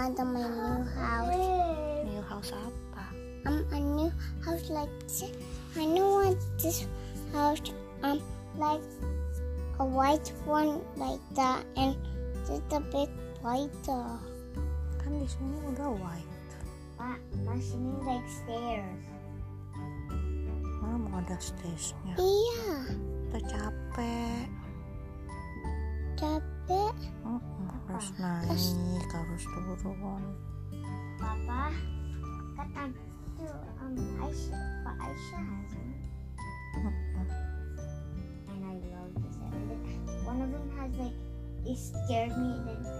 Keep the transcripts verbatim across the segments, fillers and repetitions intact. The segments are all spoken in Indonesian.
want my new house. New house apa? Um, a new house like this. I don't want this house. Um, like a white one like that, and just a bit whiter. Kan di sini udah white. But my sini like stairs. Mana mau ada stairsnya? Iya. Udah capek. Capek. Mm-mm, harus naik, harus turun. Papa, kata itu um Aisyah, Pak Aisyah has one. Mm-mm. And I love this. And then one of them has like it scared me. And then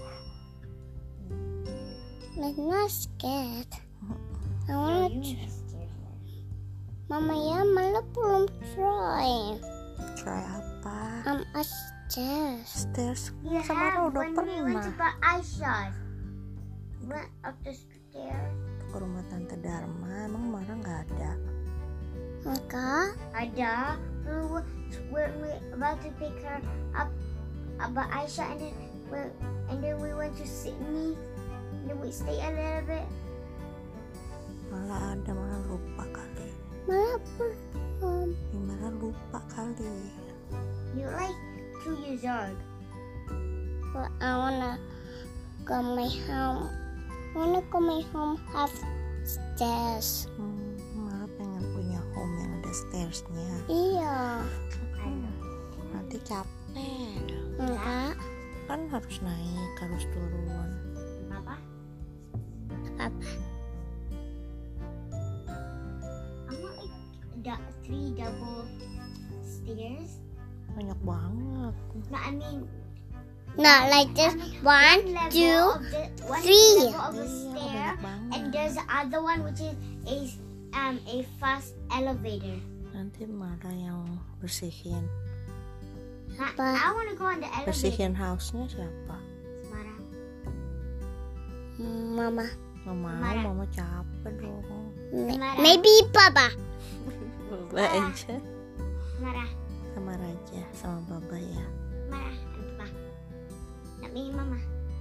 it's not scared. I want to. Mama ya malah belum try. Try apa? Um, a stairs. Stairs. You Samara have udah when we went to pernah Pak Aisyah. Went up the stairs. ke rumah Tante Dharma. Emang Mara nggak ada? Enggak. Ada. We were, we're, we're about to pick her up about Aisyah, and then we and then we went to Sydney. And then we stay a little bit. Malah ada, malah lupa kali. Malah belum. Ya, malah lupa kali. You're like two years old. Well, I wanna go my home. I wanna go my home have stairs. Hmm, Mara pengen punya home yang ada stairsnya. Iya. Hmm, nanti capek. Enggak. Kan harus naik, harus turun. Apa? Apa? I want like da- three double stairs. Banyak banget. No, I mean. Not like this. One, two, three. Iya, banyak banget. And there's the other one which is a um a fast elevator. Nanti Mara yang bersihin. Nah, I want to go on the elevator. Bersihin house-nya siapa? Mara. Mama. Nggak mau, Mara. Mama capek dong. Maybe Papa. Baba aja. Mara. Sama Raja, sama Baba ya. Mara and Papa. Not me, Mama.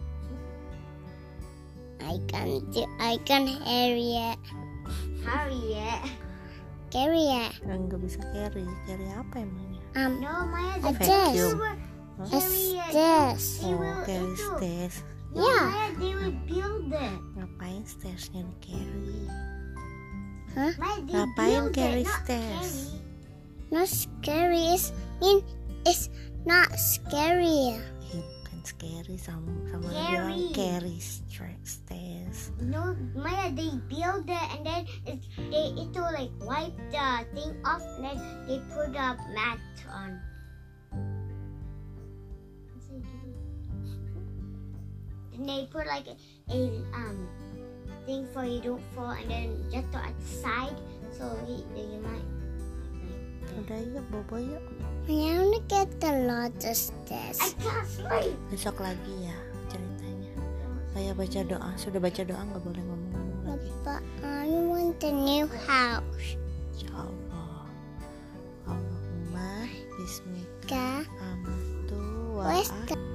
I can do. I can hurry it. Hurry it. Carry it. Nggak bisa carry. Carry apa emangnya? Um. No, Maya. A vacuum. Huh? A stairs. Oh, carry stairs. Yeah. Maya, they will build it. Ngapain stairsnya di carry? Huh? Maya, they Ngapain build carry it, not stairs? carry. Not scary. It's mean. It's not scary. Eh, bukan scary, sama sama Carry. bilang carry stra- stairs. No, Maya, they build it and then it, they it will like wipe the thing off and then they put a mat on. And they put like a, a um thing for you don't fall and then just at the side so you, you might. Udah yuk, bobo yuk. I want to get the largest stairs. I can't sleep. Besok lagi ya ceritanya. Saya baca doa, sudah baca doa nggak boleh ngomong-ngomong lagi. But I want the new house. Insyaallah. Allahumma bismika Ka. amantu wa Where's a- the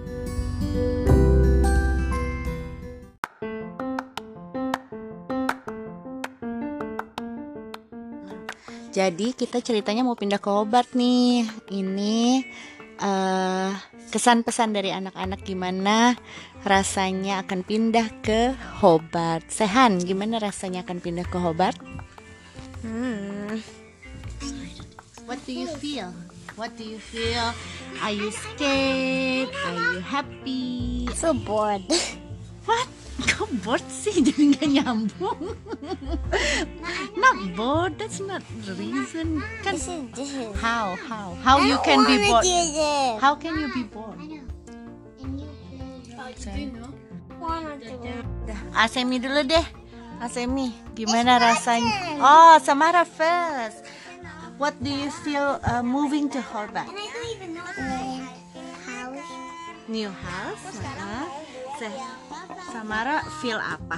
Jadi kita ceritanya mau pindah ke Hobart nih. Ini uh, kesan pesan dari anak-anak gimana rasanya akan pindah ke Hobart. Sehan, gimana rasanya akan pindah ke Hobart? Hmm. What do you feel? What do you feel? Are you scared? Are you happy? So bored. What? Kok bored sih? Jadi gak nyambung. Not bored, that's not the reason. Kan This is this is. how how how you can be bored? How can you be bored? I know. And you Say. wanna do it. Dah, Asemi dulu deh. Asemi, gimana rasanya? Oh, Samara first. What do you feel uh, moving to Hobart? And I don't even know the house. New house? Uh-huh. Say, Samara feel apa?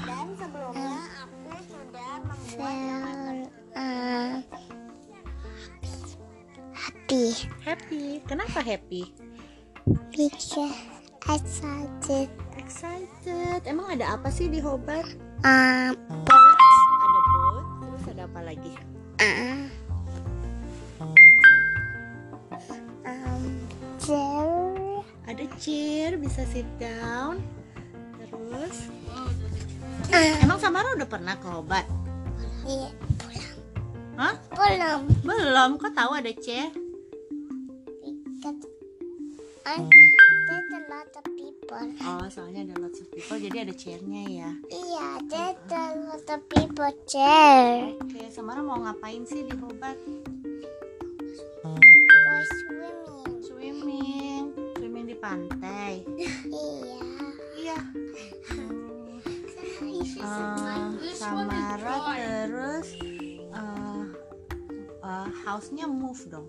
Feel uh, happy Happy. Kenapa happy? because I started excited. Emang ada apa sih di Hobart? Um, Ada boat, terus ada apa lagi? uh, um, chair. Ada chair, bisa sit down. Terus, Uh, emang Samara udah pernah ke Hobart? iya, Hah? belum. Belum, kok tahu ada chair? Because um, there's a lot of people. Oh, soalnya ada lots of people, jadi ada chairnya ya. Iya, there's a lot of people chair. Oke, Samara mau ngapain sih di Hobart? Go swimming. Swimming, swimming di pantai. Iya. Iya. Uh, Samara terus uh, uh, house-nya move dong.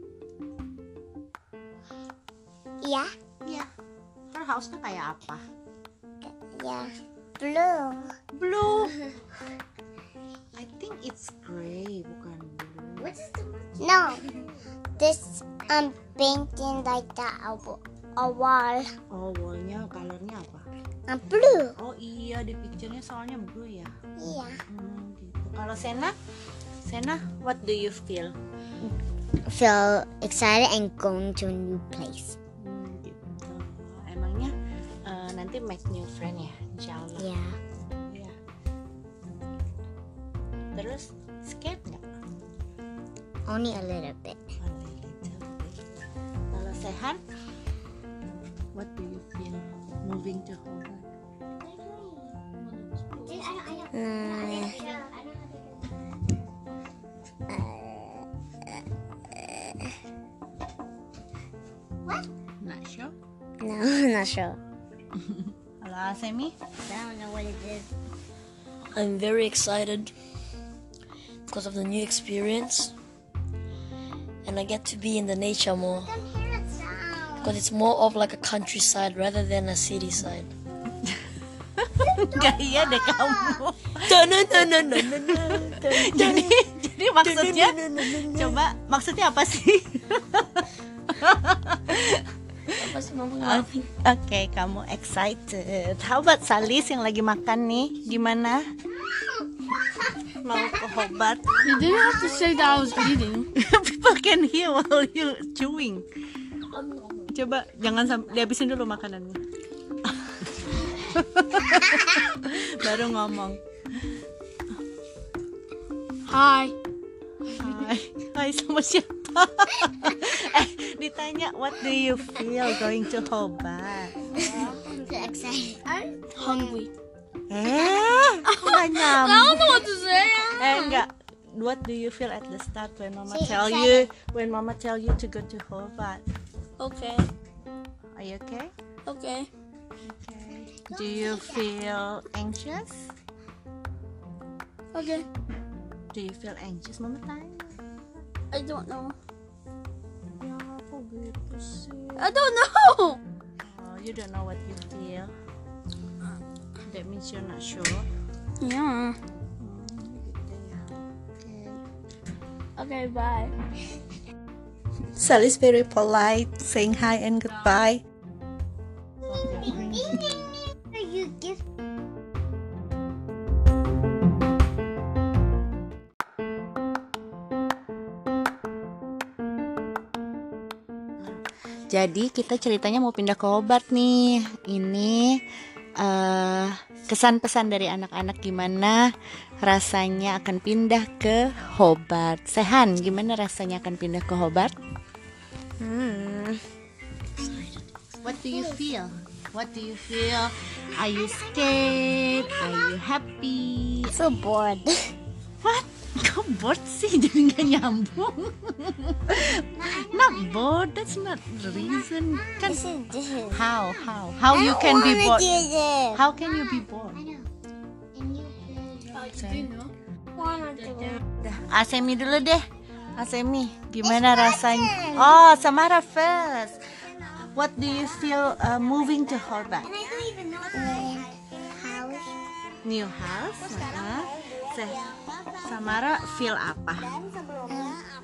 Iya. Iya. Her house-nya kayak apa? Iya. Blue. Blue. I think it's gray, bukan blue. No. This um painting like that a, wa- a wall. Oh, wallnya colornya apa? Um, blue. Oh iya, di picture-nya soalnya blue ya. Iya. Hmm, gitu. Kalau Sena, Sena, what do you feel? Feel excited and going to a new place. Hmm, gitu. Emangnya uh, nanti make new friend ya, insyaallah. Yeah. Iya. Terus scared nggak? Only a little bit. A little bit. Kalau Sehan, what do you feel moving to Hobart? Hmm. Not sure. No, I'm not sure. Kalau Asemi? I don't know what it is. I'm very excited because of the new experience, and I get to be in the nature more I can hear a sound. because it's more of like a countryside rather than a city side. Gak iya deh kamu. Dun-dun-dun-dun-dun-dun. jadi jadi maksudnya coba maksudnya apa sih? Apa sih mama? Oke, kamu excited. How about Salis yang lagi makan nih? Gimana? Mau ke Hobart? You didn't have to say that I was eating. People can hear while you chewing. Coba jangan sampai dihabisin dulu makanannya. Baru ngomong. Hi. Hai, hai sama siapa? eh, ditanya what do you feel going to Hobart? So excited. I'm hungry. Eh, nggak I nyambung. don't know what to say. Eh, enggak. What do you feel at the start when Mama Say tell you when Mama tell you to go to Hobart? Okay. Are you okay? Okay. Do you feel anxious? Okay. Do you feel anxious, Mama tanya? I don't know. Ya, kok gitu sih? I don't know. Oh, you don't know what you feel. That means you're not sure. Yeah. Hmm, gitu ya. Okay. Okay. Bye. Sally's very polite, saying hi and goodbye. You give Jadi kita ceritanya mau pindah ke Hobart nih. Ini uh, kesan pesan dari anak-anak gimana rasanya akan pindah ke Hobart. Sehan, gimana rasanya akan pindah ke Hobart? Hmm. What do you feel? What do you feel? Are you scared? Are you happy? So bored. What? Kok bored sih? Jadi gak nyambung. Not bored. That's not the reason. Kan This is this is. how how how you can be bored? It. How can you be bored? I know. And you You know. wanna do it. Dah, Asemi dulu deh. Asemi, gimana rasanya? Oh, Samara first. What do you feel uh, moving to Hobart? And I don't even know the house. New house? Uh-huh. Se- Samara feel apa?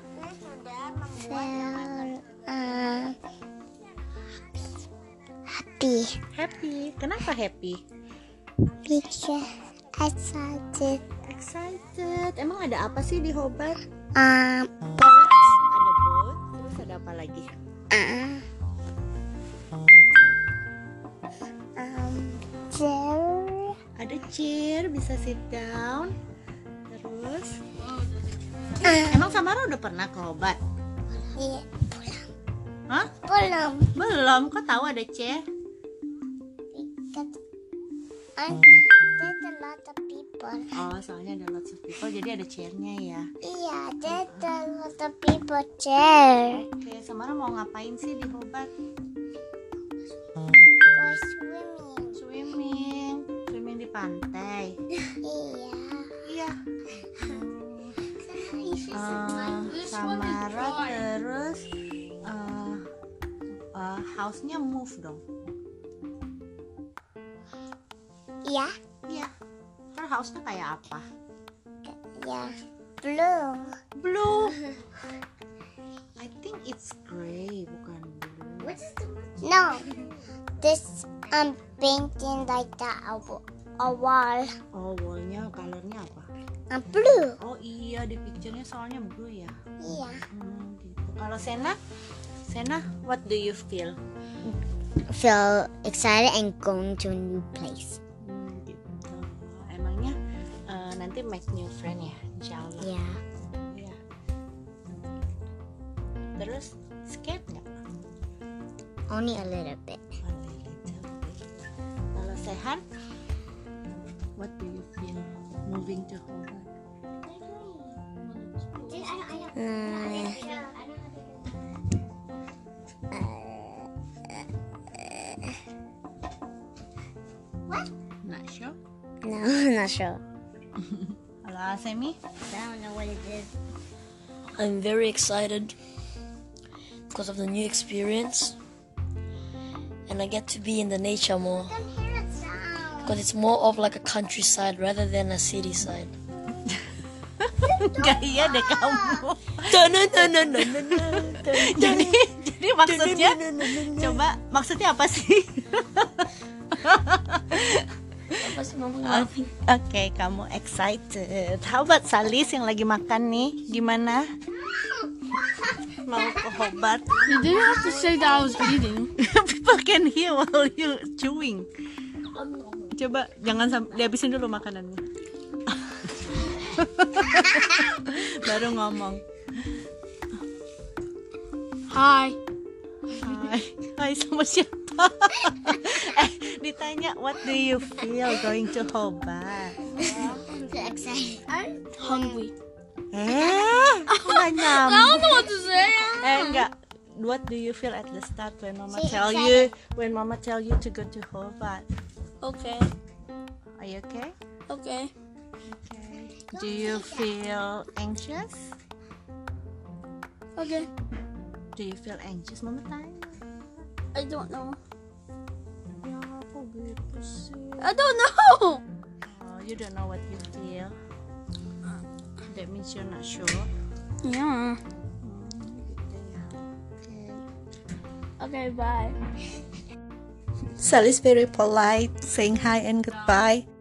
Feel uh, happy. happy Happy. Kenapa happy? because excited. Excited. Emang ada apa sih di Hobart? Um, Ada boat. Terus ada apa lagi? uh, um, chair. Ada chair, bisa sit down. Terus, Uh, emang Samara udah pernah ke Hobart? yeah, Hah? belum. Belum. Kok tahu ada chair? Because um, there's a lot of people. Oh, soalnya ada lots of people, jadi ada chairnya ya. Yeah, there's a lot of people chair. Oke, Samara mau ngapain sih di Hobart? Go swimming. Swimming. Swimming di pantai. Iya. Iya. Uh, Samara terus uh, uh, house-nya move dong. Iya. Iya. Terus house-nya kayak apa? Ya. Blue. Blue. I think it's gray, bukan blue. No. This um painting like that a, wa- a wall. Oh, wallnya colornya apa? Um, blue. Oh iya, di picture-nya soalnya blue ya. Iya. Hmm, gitu. Kalau Sena, Sena, what do you feel? Feel excited and going to a new place. Hmm, gitu. Emangnya uh, nanti make new friend ya, insyaallah. Yeah. Iya. Terus skate nggak? Only a little bit. A little bit. Kalau Sehan, what do you feel moving to Hobart? Hmm. Not sure. No, not sure. Kalau Asemi? I don't know what it is. I'm very excited because of the new experience, and I get to be in the nature more I can hear a sound. because it's more of like a countryside rather than a city side. Gak iya deh kamu. Dun-dun-dun-dun-dun-dun. jadi jadi maksudnya coba maksudnya apa sih? Apa sih mama Oke, ngelakuin? kamu excited. How about Salis yang lagi makan nih? Gimana? Mau ke Hobart? You didn't have to say that I was eating. People can hear while you chewing. Coba jangan sampai dihabisin dulu makanannya. Baru ngomong. Hi. Hai, hai sama siapa? eh, ditanya what do you feel going to Hobart? So excited. I'm hungry. Eh, nggak I nyambung. don't know what to say. Eh, enggak. What do you feel at the start when Mama Say tell excited. you when Mama tell you to go to Hobart? Okay. Are you okay? Okay. Okay. Do you feel anxious? Okay. Do you feel anxious, Mama tanya? I don't know. Ya, aku gitu sih. I don't know. Oh, you don't know what you feel. That means you're not sure. Yeah. Hmm, gitu ya. Okay. Okay, bye. Sally's very polite, saying hi and goodbye.